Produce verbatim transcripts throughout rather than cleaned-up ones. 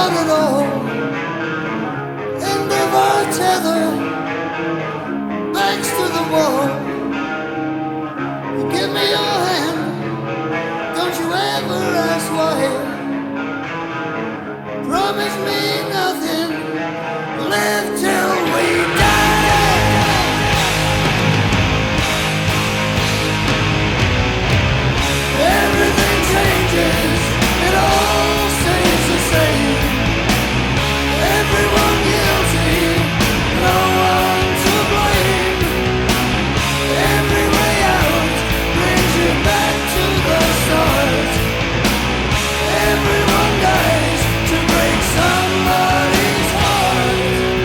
not at all. End of our tether, backs to the wall. Give me your hand, don't you ever ask why. Promise me nothing, live till we die. Everything changes, it all stays the same. Everyone guilty, no one to blame. Every way out brings you back to the start. Everyone dies to break somebody's heart.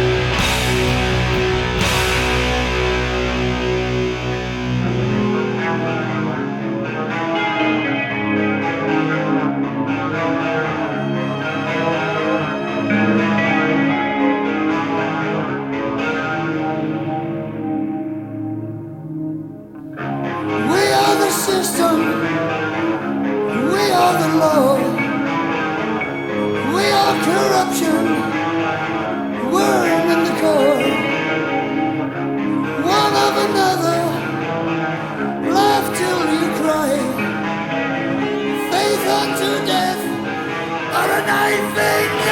We are the system, we are the law. We are corruption, worm in the core. One of another, laugh till you cry. Faith unto death, or a knife in